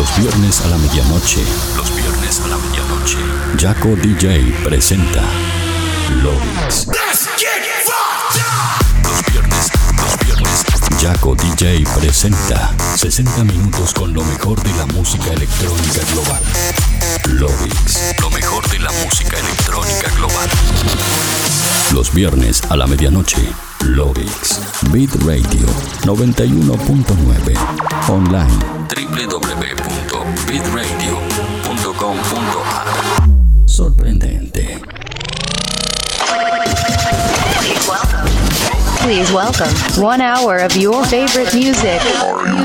Los viernes a la medianoche. Jaco DJ presenta Lovix. Jaco DJ presenta 60 minutos con lo mejor de la música electrónica global. Lovix, lo mejor de la música electrónica global. Los viernes a la medianoche. Lovix, Beat Radio 91.9. Online www.beatradio.com.ar. Sorprendente. Please welcome 1 hour of your favorite music. 1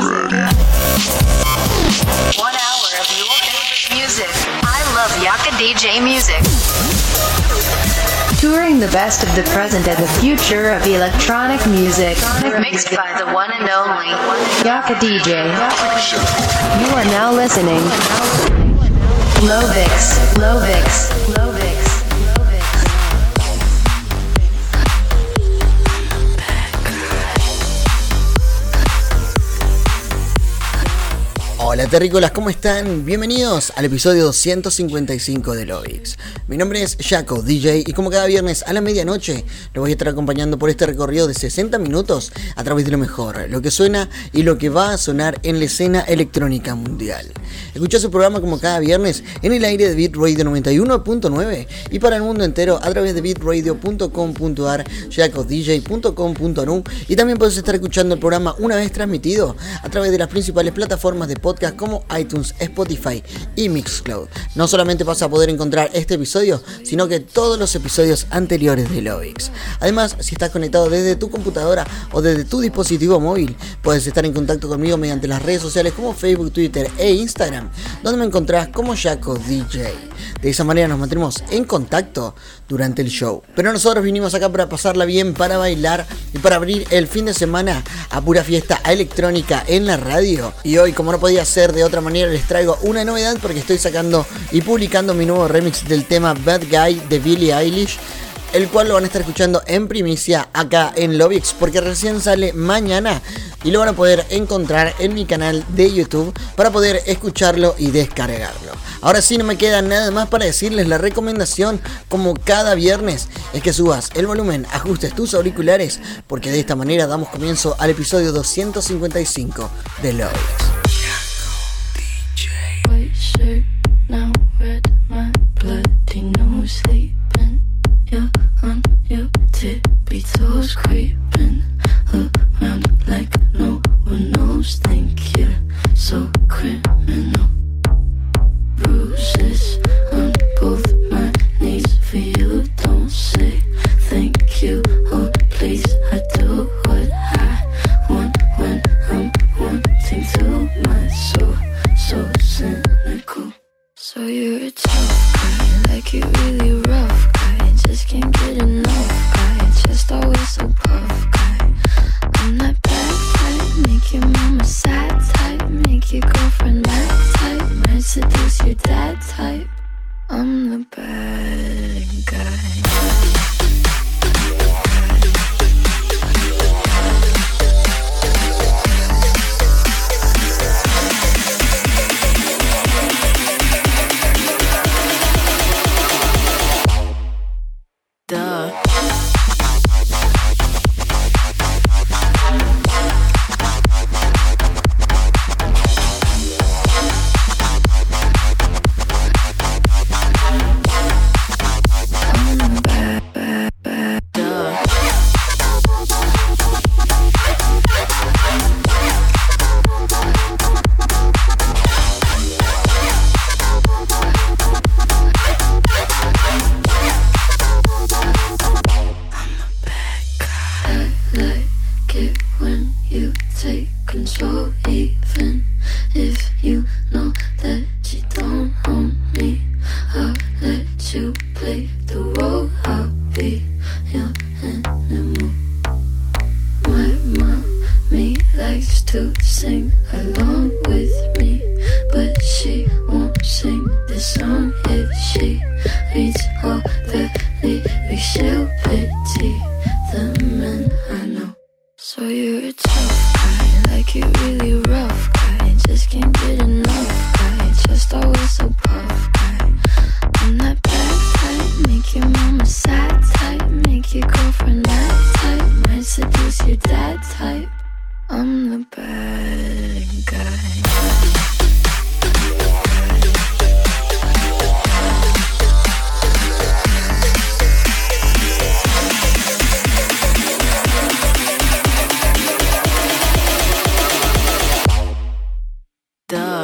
hour of your favorite music. I love Yaka DJ music. Touring the best of the present and the future of electronic music. Mixed by the one and only Yaka DJ. You are now listening. Lovix. Hola terrícolas, ¿cómo están? Bienvenidos al episodio 255 de Lovix. Mi nombre es Jaco DJ y como cada viernes a la medianoche lo voy a estar acompañando por este recorrido de 60 minutos a través de lo mejor, lo que suena y lo que va a sonar en la escena electrónica mundial. Escuchá su programa como cada viernes en el aire de Beat Radio 91.9 y para el mundo entero a través de beatradio.com.ar, jacodj.com.nu, y también puedes estar escuchando el programa una vez transmitido a través de las principales plataformas de podcast como iTunes, Spotify y Mixcloud. No solamente vas a poder encontrar este episodio, sino que todos los episodios anteriores de Lovix. Además, si estás conectado desde tu computadora o desde tu dispositivo móvil, puedes estar en contacto conmigo mediante las redes sociales como Facebook, Twitter e Instagram, donde me encontrás como Jaco DJ. De esa manera nos mantendremos en contacto durante el show. Pero nosotros vinimos acá para pasarla bien, para bailar y para abrir el fin de semana a pura fiesta electrónica en la radio. Y hoy, como no podía ser de otra manera, les traigo una novedad porque estoy sacando y publicando mi nuevo remix del tema Bad Guy de Billie Eilish, el cual lo van a estar escuchando en primicia acá en Lovix porque recién sale mañana y lo van a poder encontrar en mi canal de YouTube para poder escucharlo y descargarlo. Ahora sí, no me queda nada más para decirles. La recomendación, como cada viernes, es que subas el volumen, ajustes tus auriculares, porque de esta manera damos comienzo al episodio 255 de Lovix. White shirt, now red, my bloody nose sleeping. You're on your tippy toes, creeping around like no one knows. Think you're so criminal. Bruises on both my knees for you. Don't say thank you or please. I do what I want when I'm wanting to. My soul so cynical. So you're a tough guy, like you really rough guy. Just can't get enough guy, just always so puff guy. I'm that bad type, make your mama sad type, make your girlfriend mad type, might seduce your dad type. I'm the bad guy. So you're a tough guy, like you really rough guy. Just can't get enough.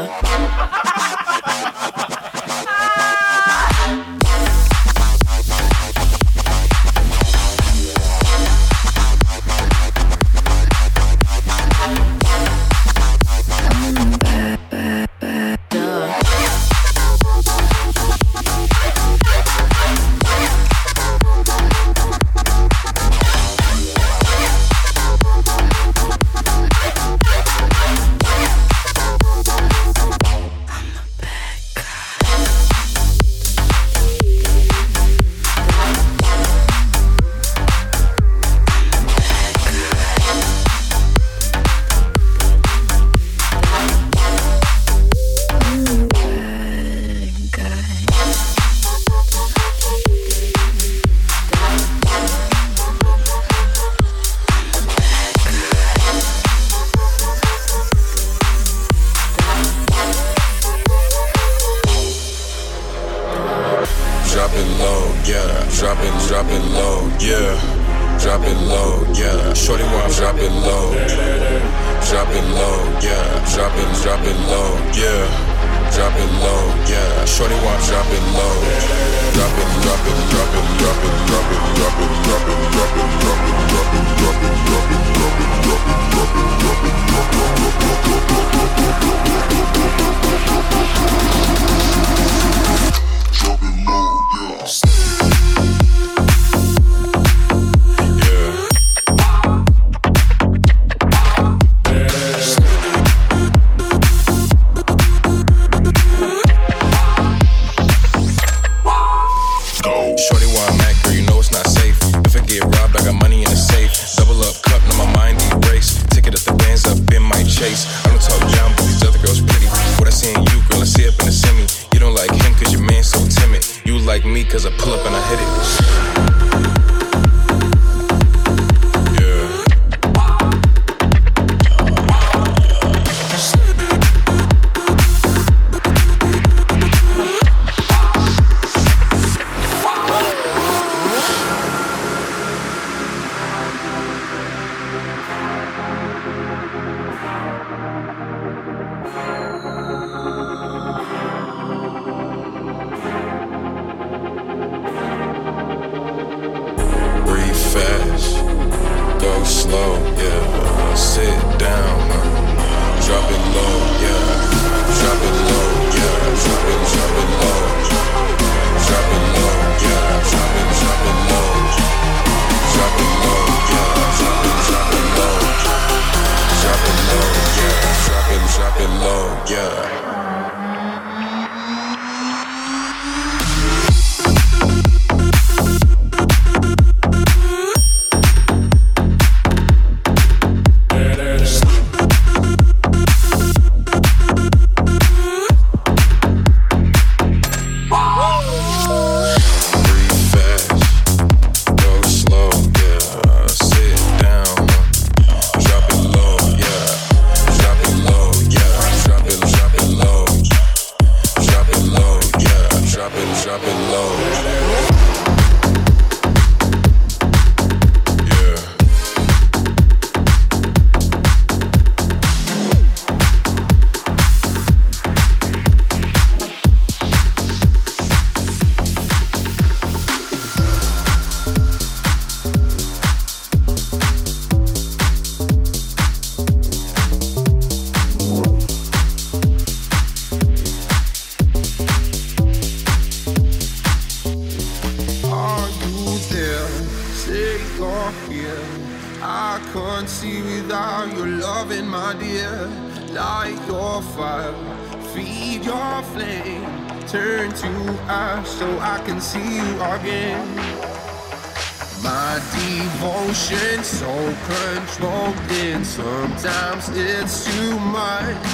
Sometimes it's too much.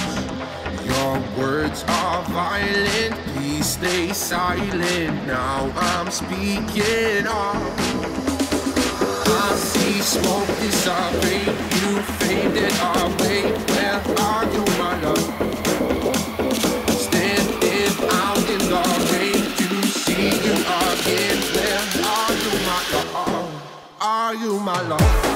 Your words are violent. Please stay silent. Now I'm speaking up. I see smoke dissipate. You faded away. Where are you, my love? Standing out in the rain to see you again. Where are you, my love? Are you, my love?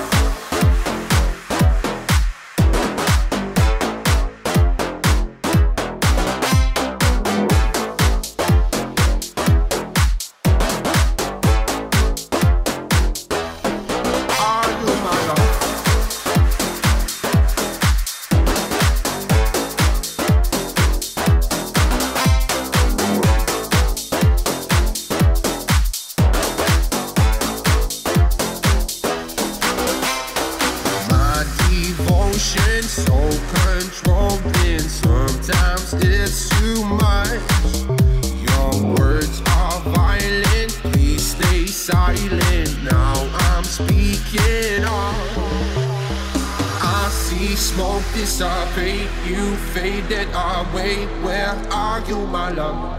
it's too much. Your words are violent, please stay silent. Now I'm speaking on. I see smoke dissipate, you faded away. Where are you, my love?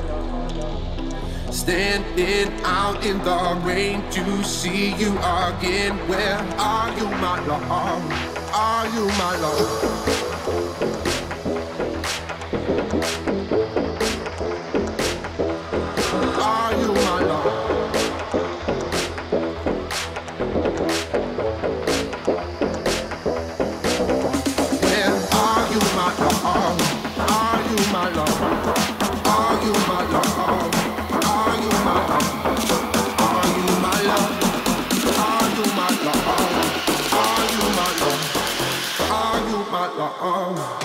Standing out in the rain to see you again. Where are you, my love? Are you, my love? Are you, my love? Where are you, my love? Are you, my love? Are you, my love? Are you, my love? Are you, my love? Are you, my love? Are you, my love? Are you, my love?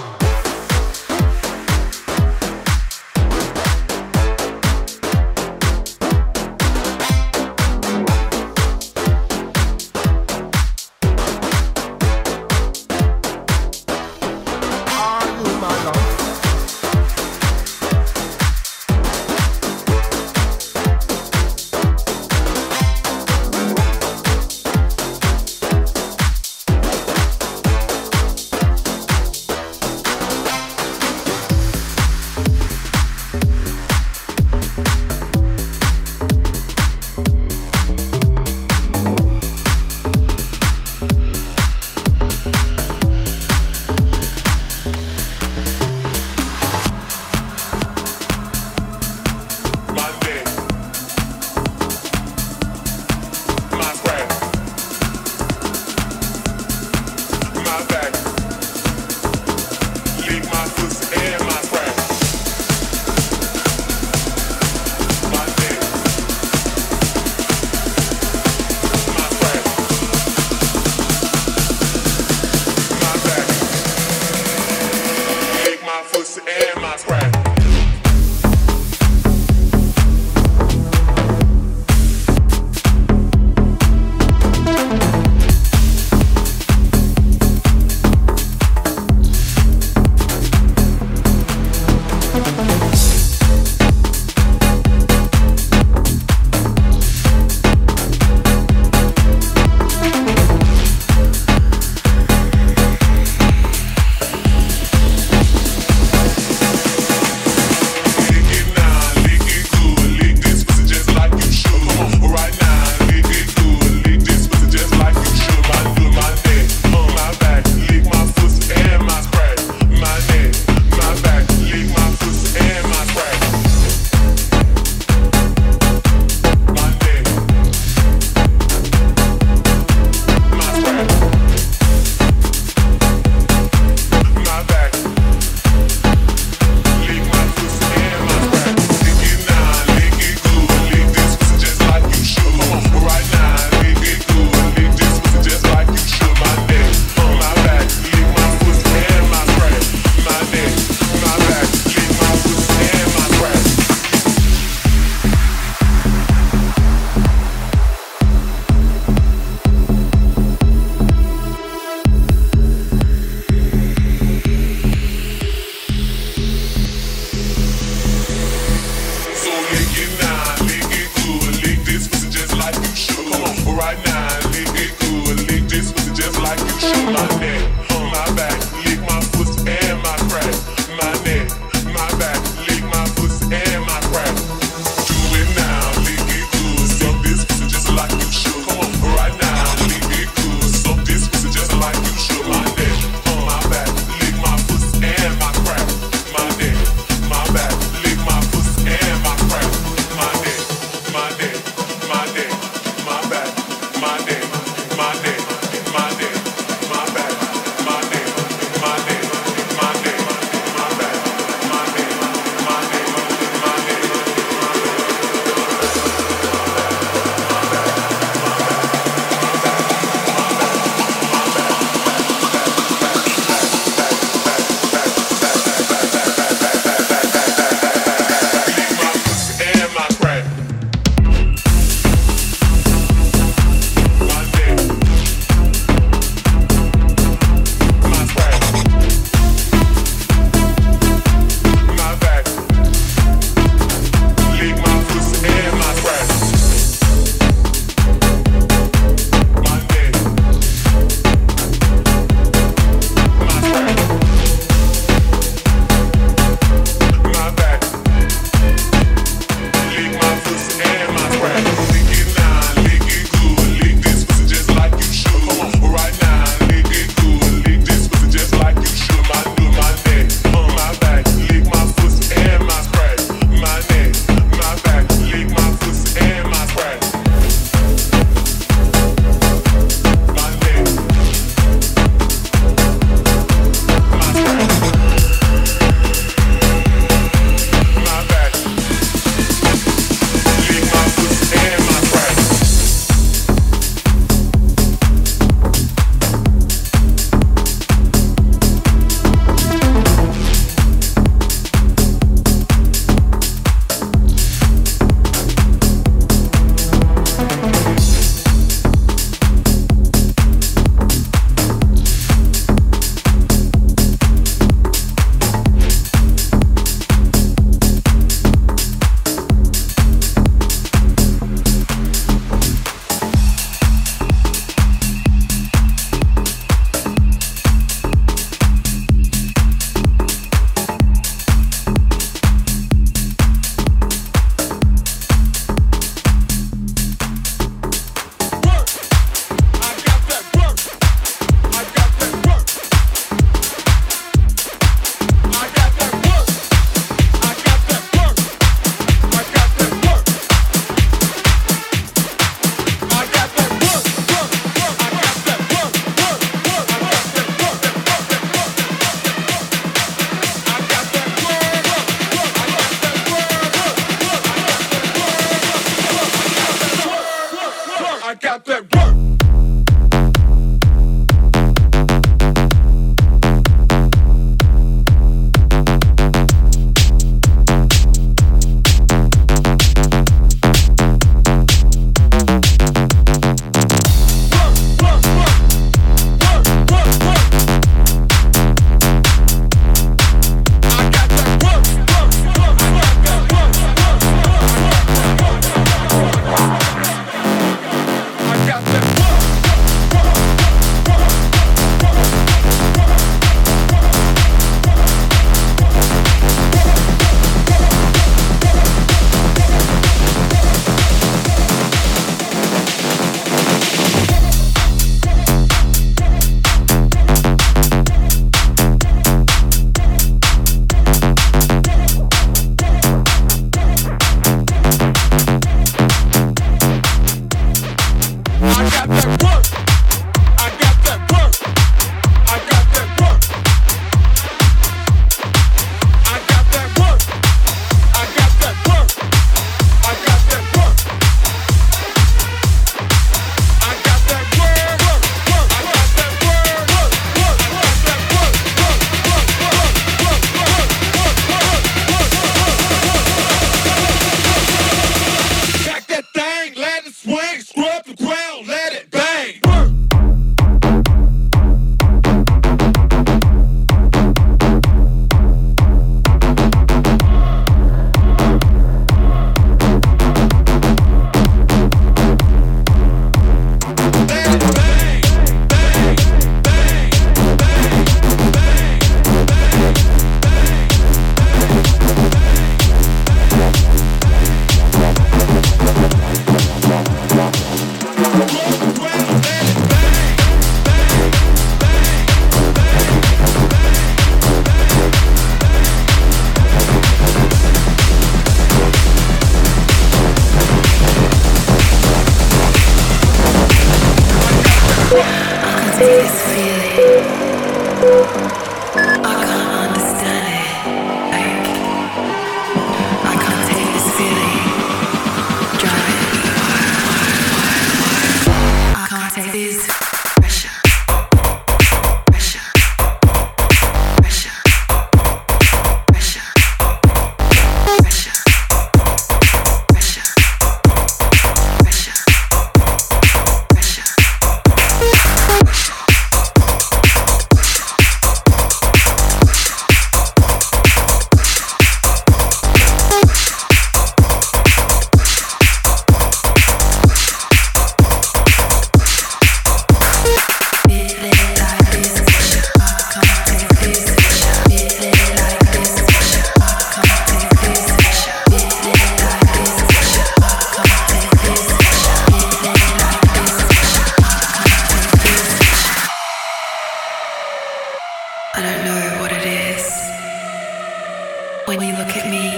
only look at me.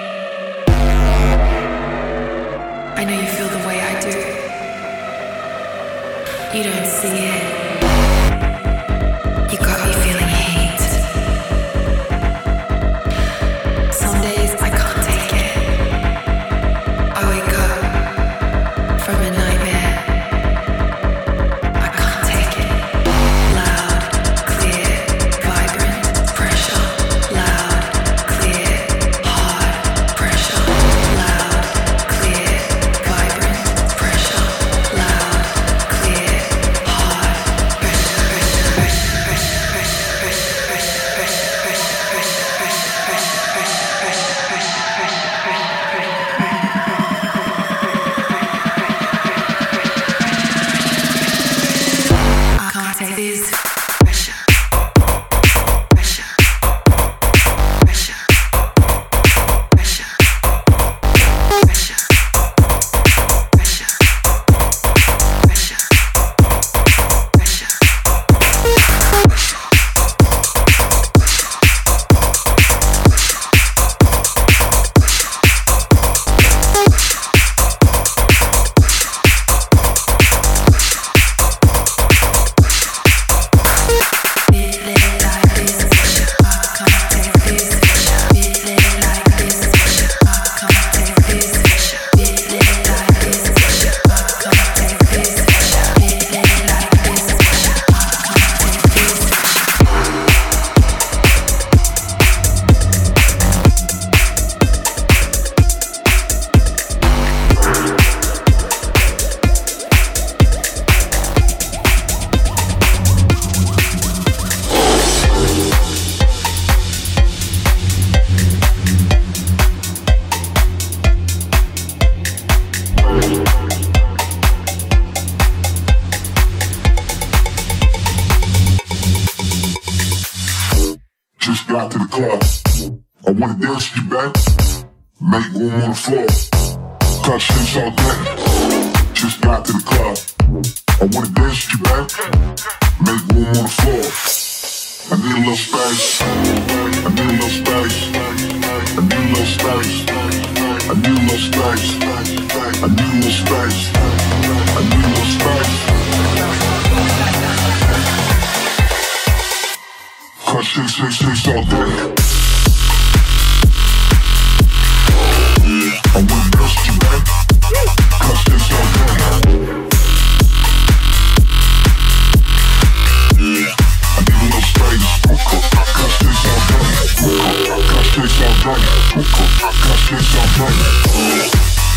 I know you feel the way I do. You don't see it. You got me feeling hate. Some days I can't take it. I wake up from a nightmare. I can't take it. Loud, clear, vibrant, pressure. Loud, clear, hard, pressure. Loud, clear, vibrant, pressure. Loud, clear, hard, I can't take this pressure. Pressure. Pressure. Pressure. Pressure. Pressure. Pressure. Pressure. Just got to the club. I wanna dance you back. Make room on the floor. Cut shit all day. Just got to the club. I wanna dance you back. Make room on the floor. I need a little space. I need a little space. I need a little space. I need a little space. I need a little space. I need a little space. Cut shit all day. I wanna dance you back. Cut shit all day. I need a little space. Cut shit all day. Cut shit all day. Cut shit all day.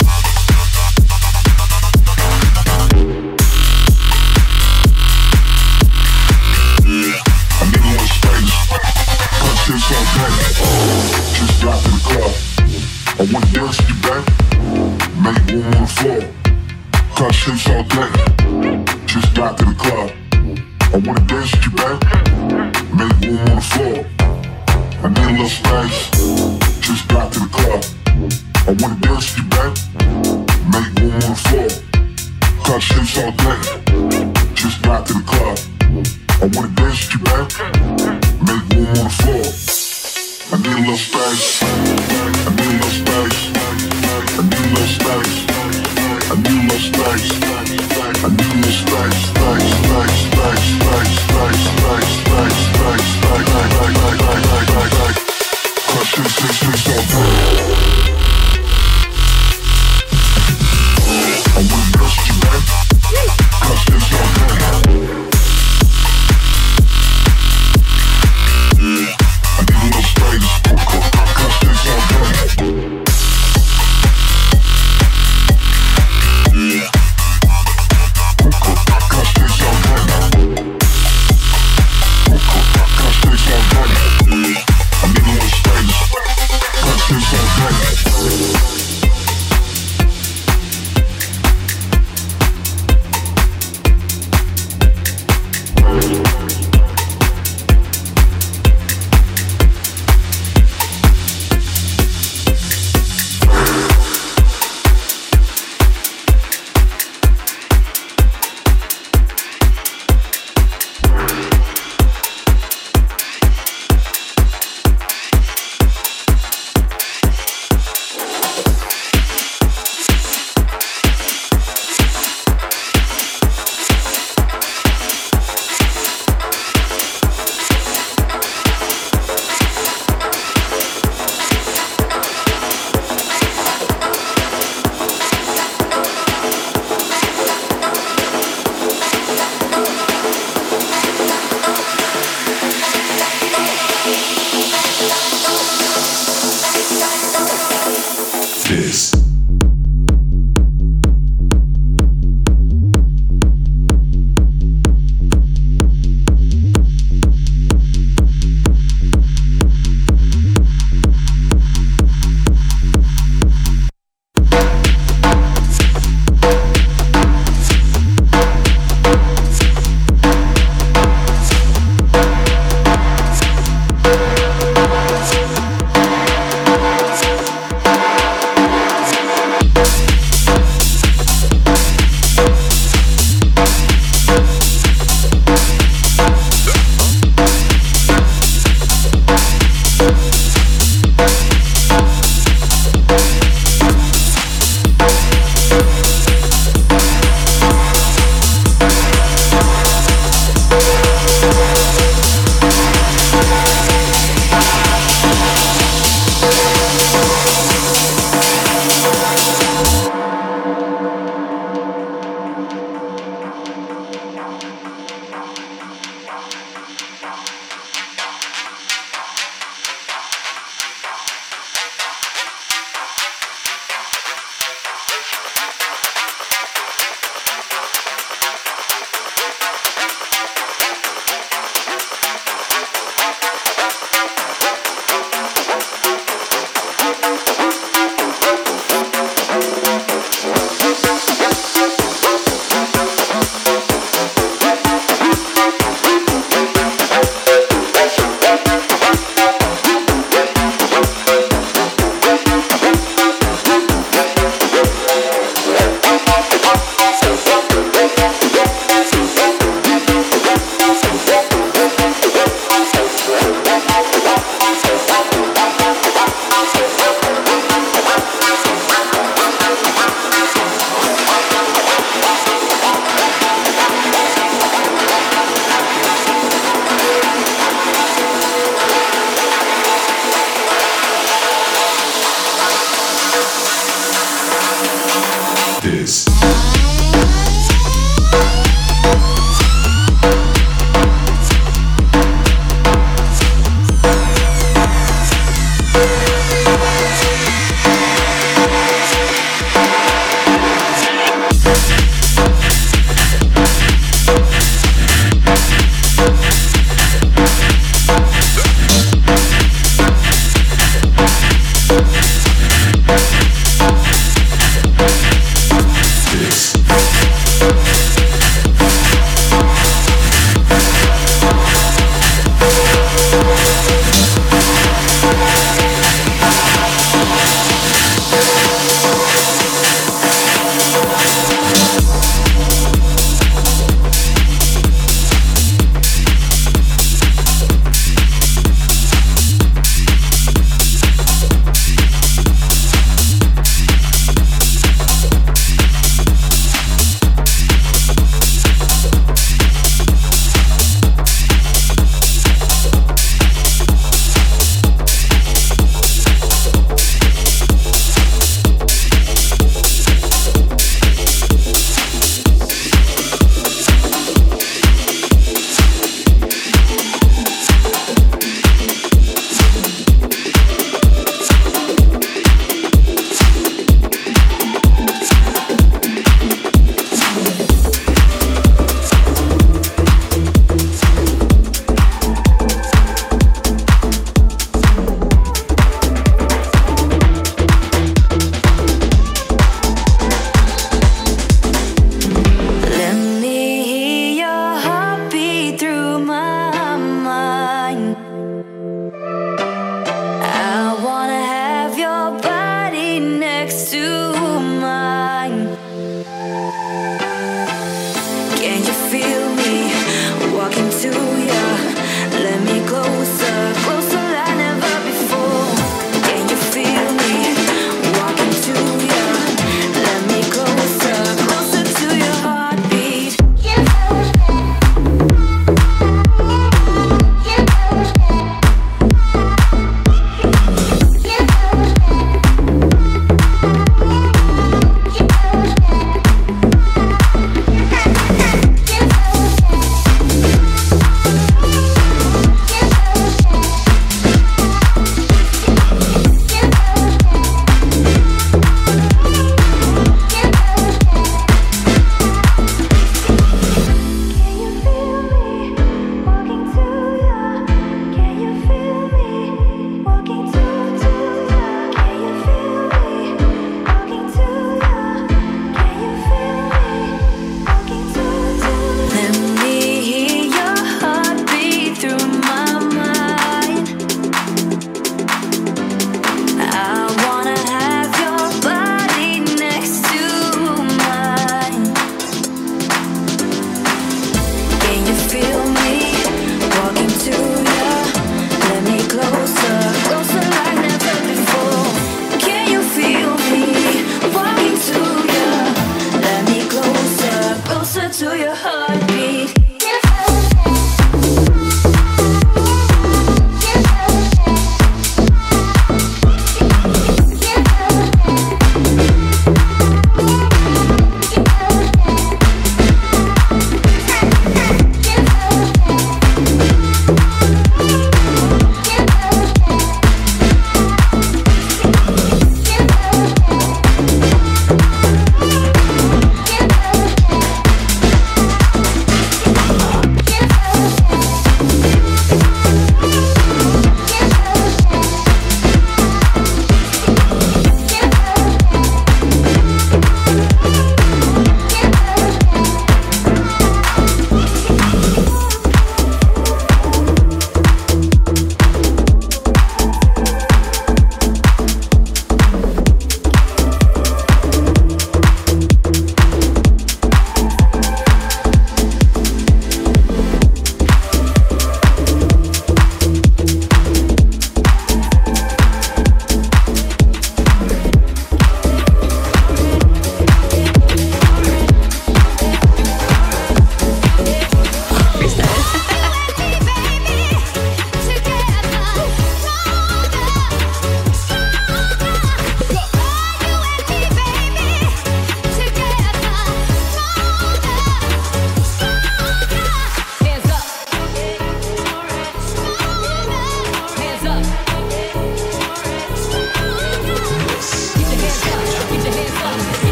I need a little space. Cut shit all day. Just got to the club. I wanna dance you back. Make room on the floor. Cut shit all day. Just got to the club. I wanna dance you back. Make room on the floor. I need a little space. Just got to the club. I wanna dance you back. Make room on the floor. Cut shit all day. Just got to the club. I wanna dance you back. Make room on the floor. I need a little space. I need a little space. I need a little space. I need a little space. I need a little space. Space, space, space, space, space, space, space, space, space. Cut shit all day. I wanna dance you back. Cut shit all day. I need a little space. Cut shit all day. This.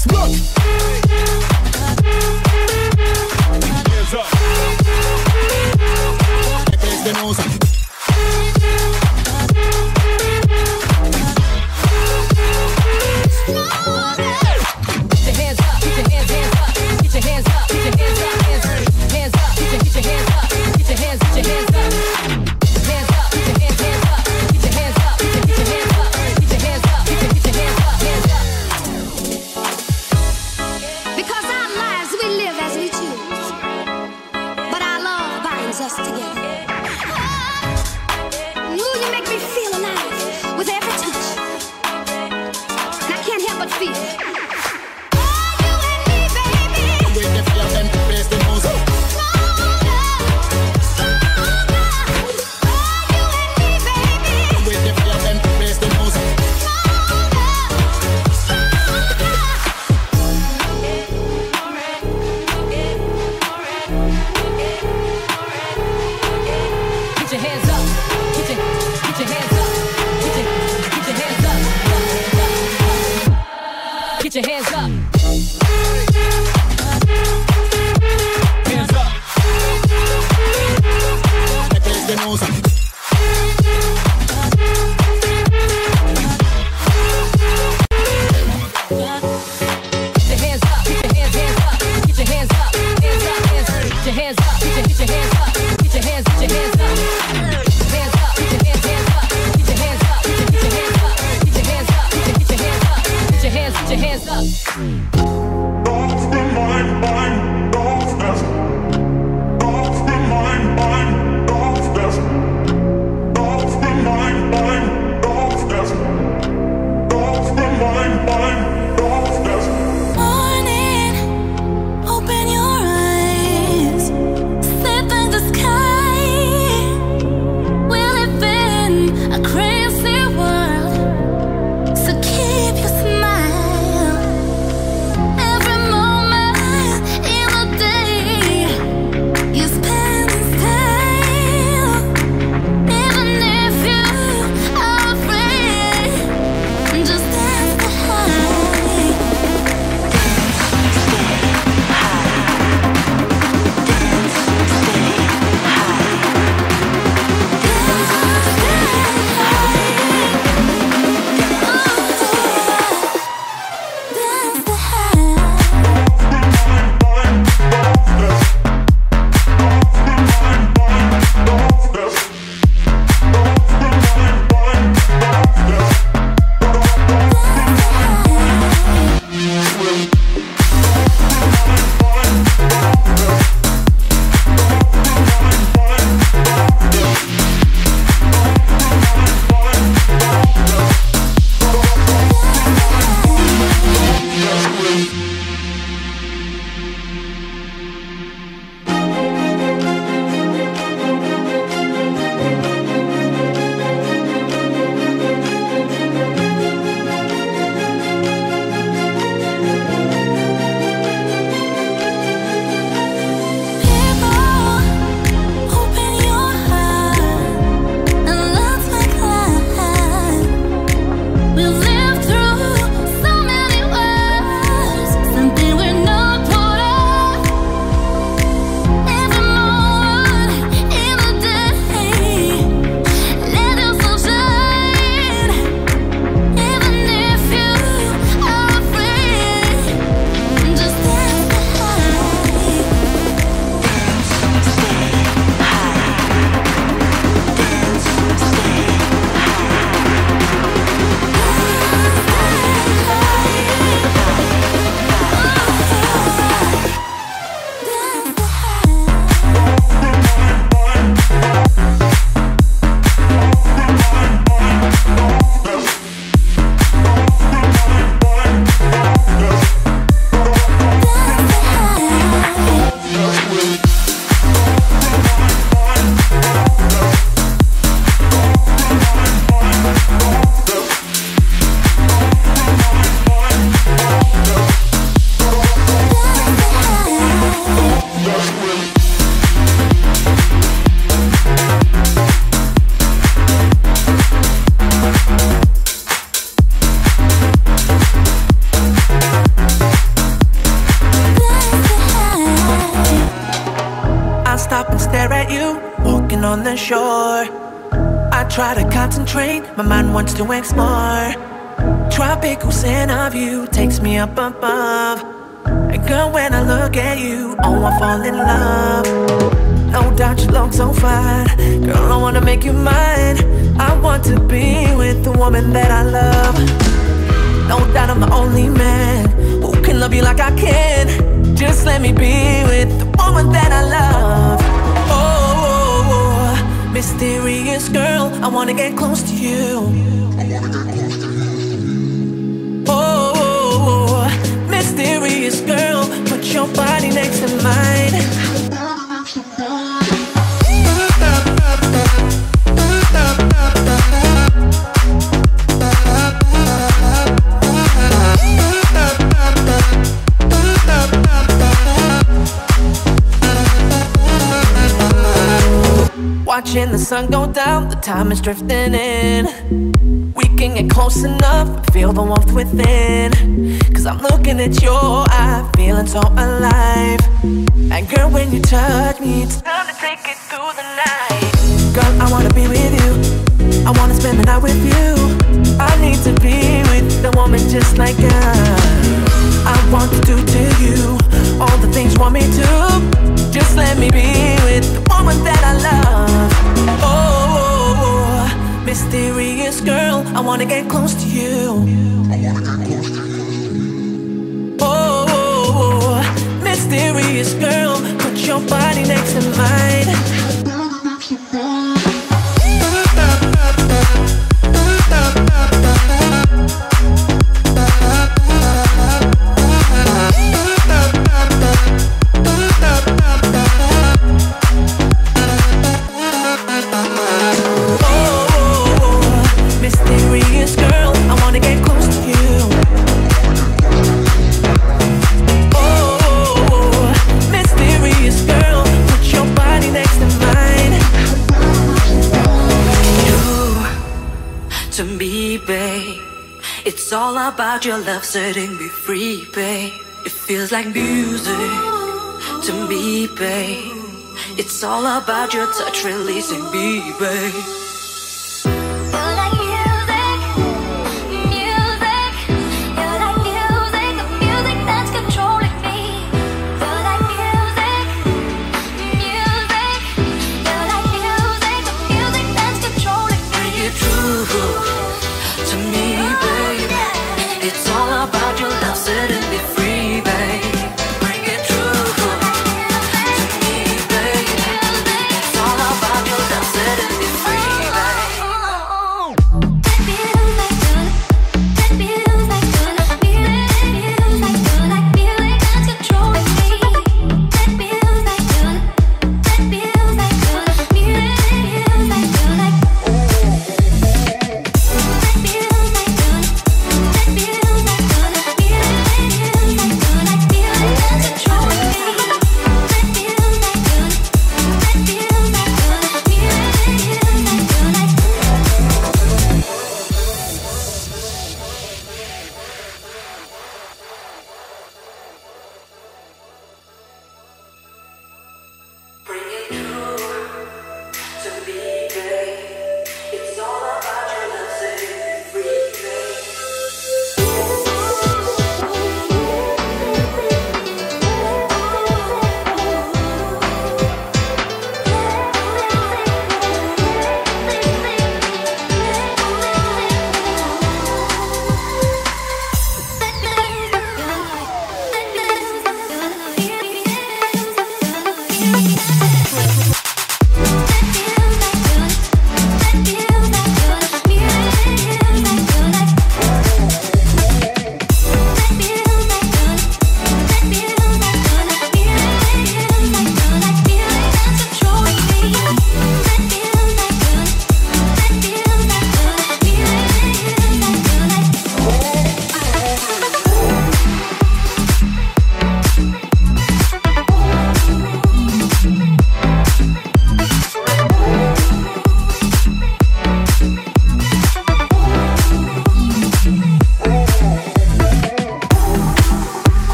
next block. Hands up. The nose. Get your hands up. Hands up. The nose. Hands up. feeling sure. I try to concentrate, my mind wants to explore. Tropical scent of you takes me up above. And girl, when I look at you, oh, I fall in love. No doubt you look so fine. Girl, I wanna make you mine. I want to be with the woman that I love. No doubt I'm the only man who can love you like I can. Just let me be with the woman that I love. Oh, mysterious girl, I wanna get close to you. Oh, mysterious girl, put your body next to mine. Watching the sun go down, the time is drifting in. We can get close enough, feel the warmth within. Cause I'm looking at your eye, feeling so alive. And girl, when you touch me, it's time to take it through the night. Girl, I wanna be with you, I wanna spend the night with you. I need to be with the woman just like us. I want to do to you all the things you want me to. Just let me be with the woman that I love. Oh, mysterious girl, I wanna get close to you. Oh, mysterious girl, put your body next to mine. It's all about your love setting me free, babe. It feels like music to me, babe. It's all about your touch releasing me, babe. Setting me free, babe. Bring it true to me, babe. It's all about your love setting me free.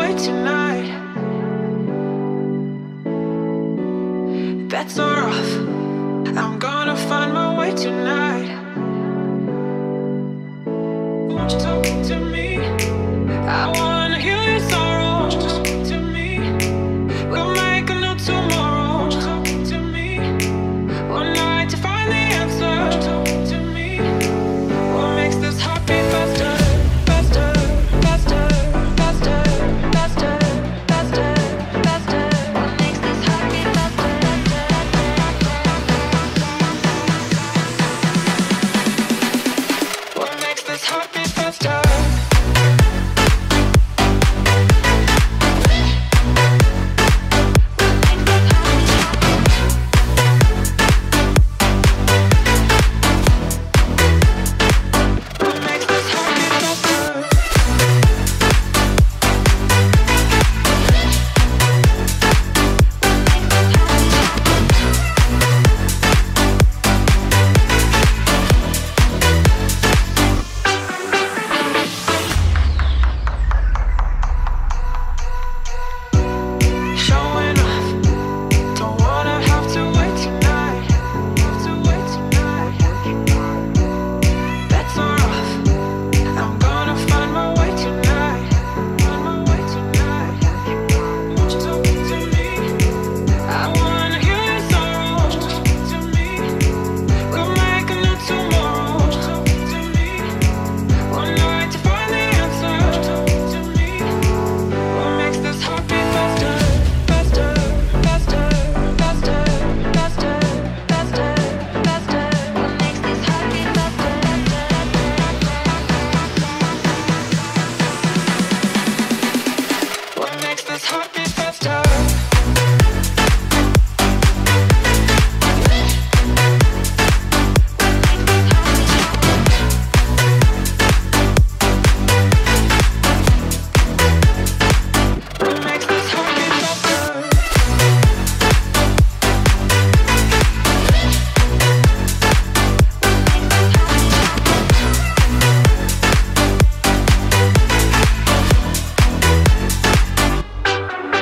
way tonight. Bets are off. I'm gonna find my way tonight. Won't you talk to me? I wanna heal your sorrow. Won't you talk to me? We'll make a new tomorrow. Won't you talk to me? One night to find the answer. Won't you talk to me? What makes this heart beat faster, faster, faster, faster, faster, faster, faster? What makes this heart beat faster? What makes this heart beat faster? Showing off, don't wanna have to wait tonight. Have to wait tonight. Bets are off. I'm gonna find my way tonight. Find my way tonight. Won't you talk to me? I wanna heal your sorrow. Won't you talk to me? We'll make a new tomorrow. Won't you talk to me? One night to find the answer. Won't you talk to me? What makes this heart beat faster? Faster, faster, faster, faster, faster, faster. What makes this heart beat faster? What makes this heart beat faster? What makes this heart beat faster? What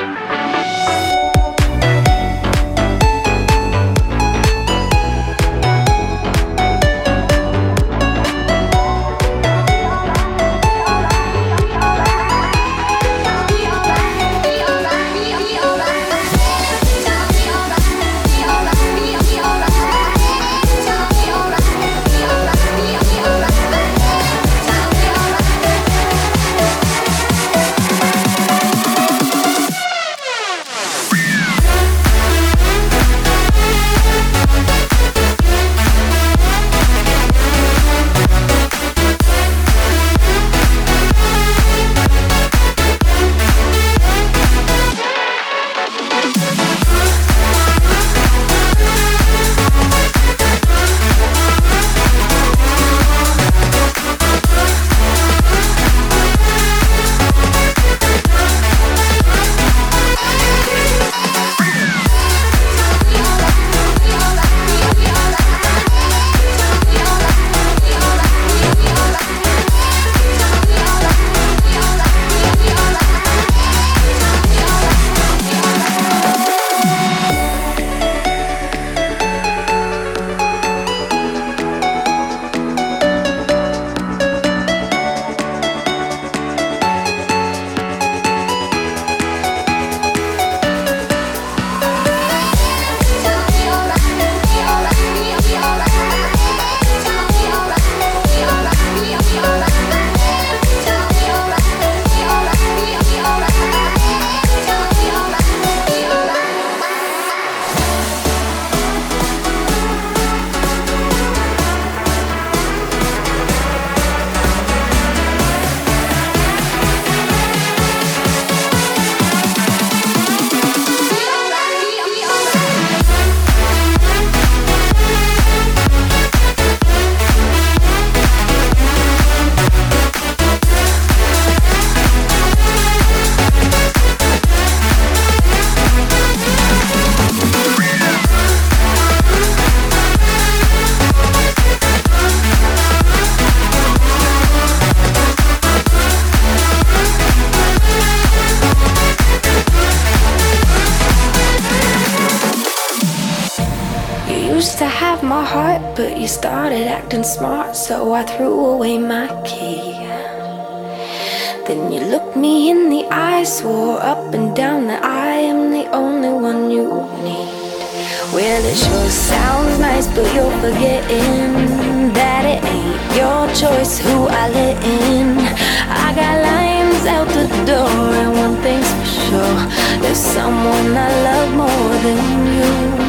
have my heart, but you started acting smart, so I threw away my key. Then you looked me in the eye, swore up and down that I am the only one you need. Well, it sure sounds nice, but you're forgetting that it ain't your choice who I let in. I got lines out the door, and one thing's for sure, there's someone I love more than you.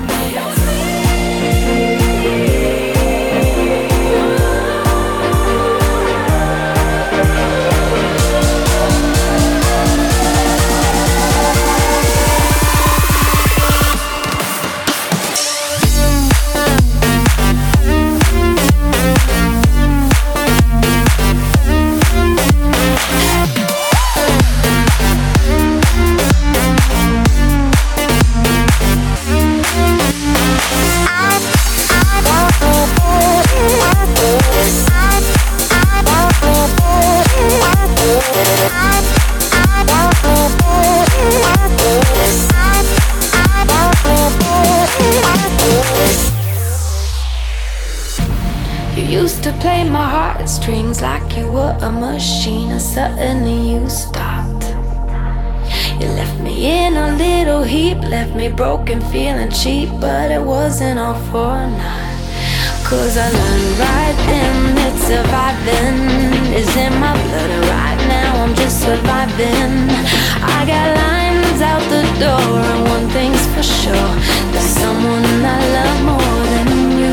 You used to play my heartstrings like you were a machine, and suddenly you stopped. You left me in a little heap, left me broken, feeling cheap, but it wasn't all for naught. 'Cause I learned right then that surviving is in my blood. Right now I'm just surviving. I got lines out the door, and one thing's for sure, there's someone I love more than you.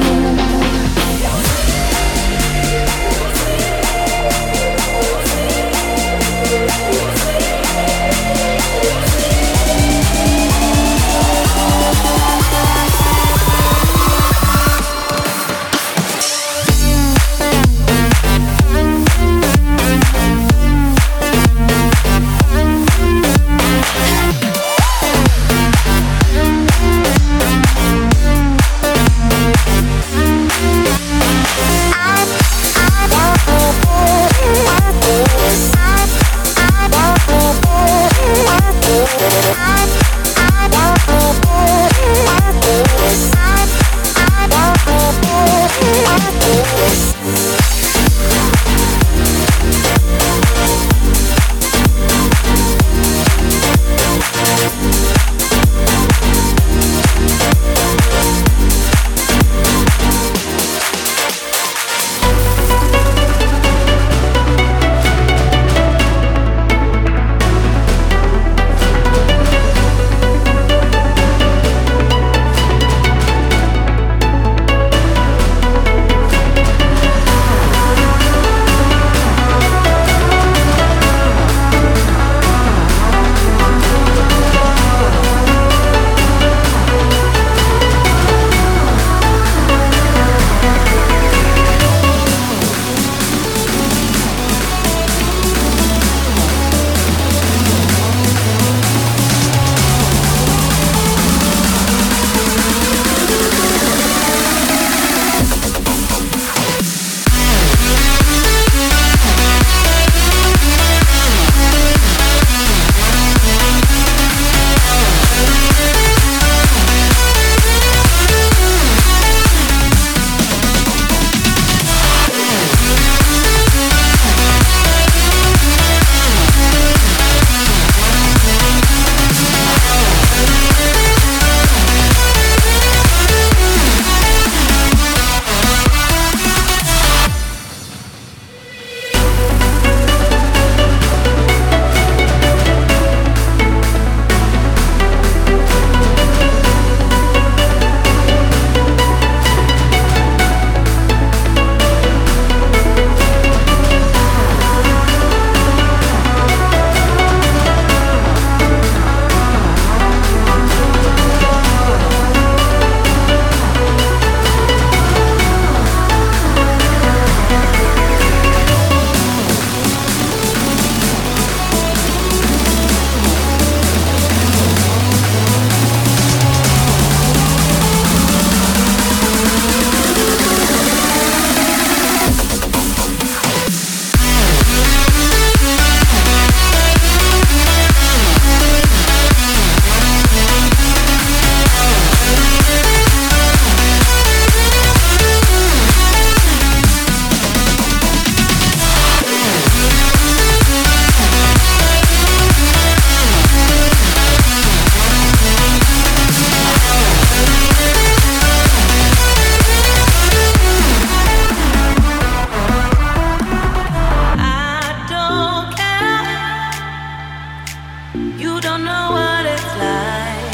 You don't know what it's like.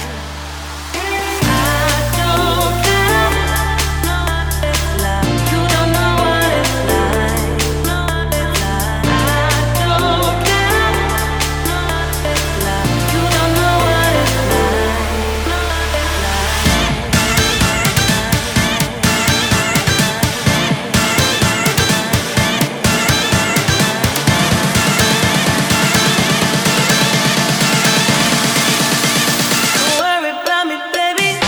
I don't care. You don't know what it's like. I don't care. You don't know what it's Don't worry about me, baby.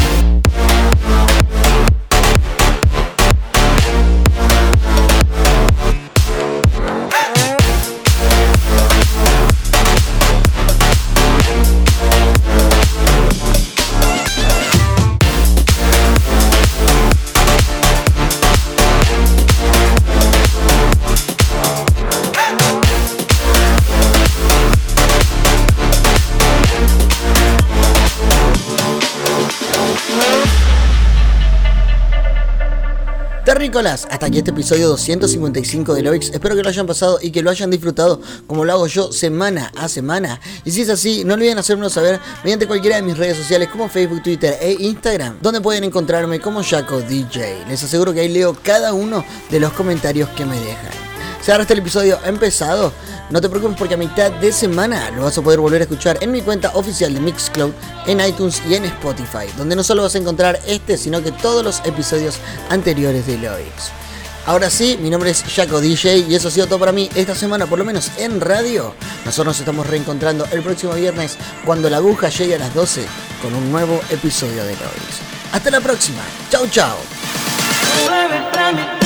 Terrícolas, hasta aquí este episodio 255 de Lovix. Espero que lo hayan pasado y que lo hayan disfrutado como lo hago yo semana a semana. Y si es así, no olviden hacérmelo saber mediante cualquiera de mis redes sociales como Facebook, Twitter e Instagram, donde pueden encontrarme como Jaco DJ. Les aseguro que ahí leo cada uno de los comentarios que me dejan. Si ahora está el episodio empezado, no te preocupes porque a mitad de semana lo vas a poder volver a escuchar en mi cuenta oficial de Mixcloud, en iTunes y en Spotify, donde no solo vas a encontrar este, sino que todos los episodios anteriores de Lovix. Ahora sí, mi nombre es Jaco DJ y eso ha sido todo para mí esta semana, por lo menos en radio. Nosotros nos estamos reencontrando el próximo viernes cuando la aguja llegue a las 12 con un nuevo episodio de Lovix. Hasta la próxima. Chau, chau. Don't worry about me,